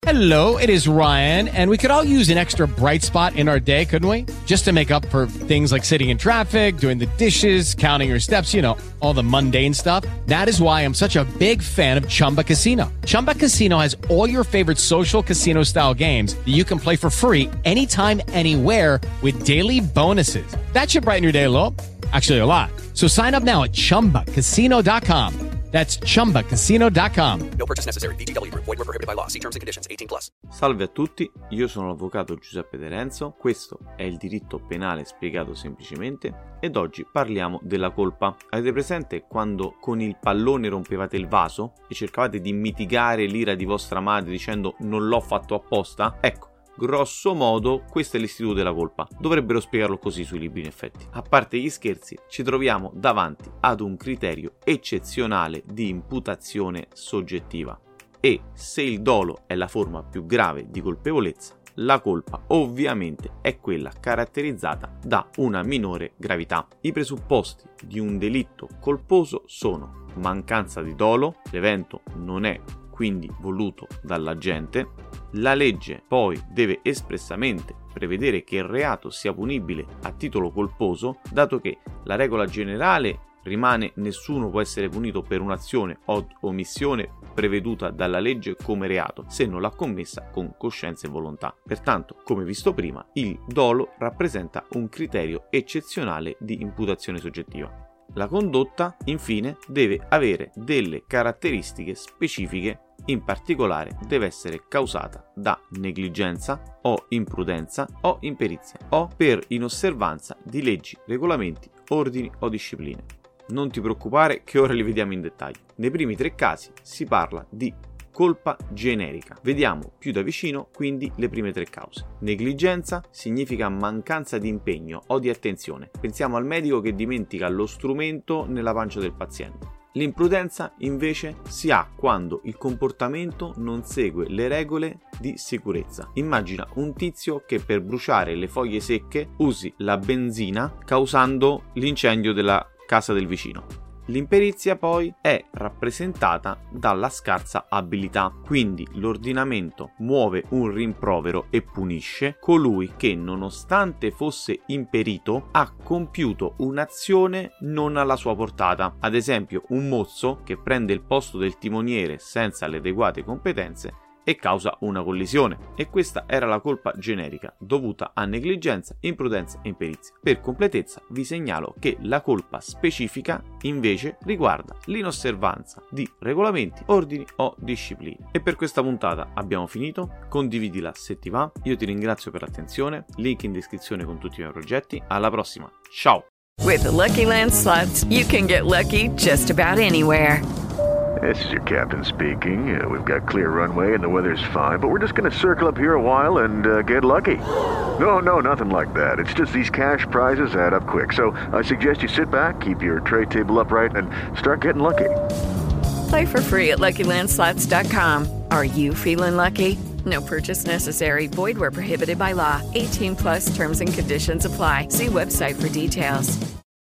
Hello, it is Ryan, and we could all use an extra bright spot in our day, couldn't we? Just to make up for things like sitting in traffic, doing the dishes, counting your steps, you know, all the mundane stuff. That is why I'm such a big fan of Chumba Casino. Chumba Casino has all your favorite social casino-style games that you can play for free anytime, anywhere with daily bonuses. That should brighten your day a little. Actually, a lot. So sign up now at ChumbaCasino.com. That's ChumbaCasino.com. No purchase necessary. VGW Group. Void where prohibited by law. See terms and conditions. 18+. Salve a tutti, io sono l'avvocato Giuseppe De Renzo, questo è il diritto penale spiegato semplicemente ed oggi parliamo della colpa. Avete presente quando con il pallone rompevate il vaso e cercavate di mitigare l'ira di vostra madre dicendo non l'ho fatto apposta? Ecco, grosso modo questo è l'istituto della colpa. Dovrebbero spiegarlo così sui libri in effetti. A parte gli scherzi, ci troviamo davanti ad un criterio eccezionale di imputazione soggettiva. E se il dolo è la forma più grave di colpevolezza, la colpa ovviamente è quella caratterizzata da una minore gravità. I presupposti di un delitto colposo sono mancanza di dolo, l'evento non è quindi voluto dall'agente, la legge poi deve espressamente prevedere che il reato sia punibile a titolo colposo, dato che la regola generale rimane nessuno può essere punito per un'azione o omissione preveduta dalla legge come reato se non l'ha commessa con coscienza e volontà. Pertanto, come visto prima, il dolo rappresenta un criterio eccezionale di imputazione soggettiva. La condotta, infine, deve avere delle caratteristiche specifiche. In particolare deve essere causata da negligenza o imprudenza o imperizia o per inosservanza di leggi, regolamenti, ordini o discipline. Non ti preoccupare che ora li vediamo in dettaglio. Nei primi 3 casi si parla di colpa generica. Vediamo più da vicino quindi le prime 3 cause. Negligenza significa mancanza di impegno o di attenzione. Pensiamo al medico che dimentica lo strumento nella pancia del paziente. L'imprudenza invece si ha quando il comportamento non segue le regole di sicurezza. Immagina un tizio che per bruciare le foglie secche usi la benzina causando l'incendio della casa del vicino. L'imperizia poi è rappresentata dalla scarsa abilità, quindi l'ordinamento muove un rimprovero e punisce colui che, nonostante fosse imperito, ha compiuto un'azione non alla sua portata. Ad esempio, un mozzo che prende il posto del timoniere senza le adeguate competenze e causa una collisione. E questa era la colpa generica dovuta a negligenza, imprudenza e imperizia. Per completezza vi segnalo che la colpa specifica invece riguarda l'inosservanza di regolamenti, ordini o discipline. E per questa puntata abbiamo finito. Condividila se ti va. Io ti ringrazio per l'attenzione. Link in descrizione con tutti i miei progetti. Alla prossima. Ciao. With the Lucky Land Slots, you can get lucky just about anywhere. This is your captain speaking. We've got clear runway and the weather's fine, but we're just going to circle up here a while and get lucky. No, nothing like that. It's just these cash prizes add up quick. So I suggest you sit back, keep your tray table upright, and start getting lucky. Play for free at LuckyLandSlots.com. Are you feeling lucky? No purchase necessary. Void where prohibited by law. 18+ terms and conditions apply. See website for details.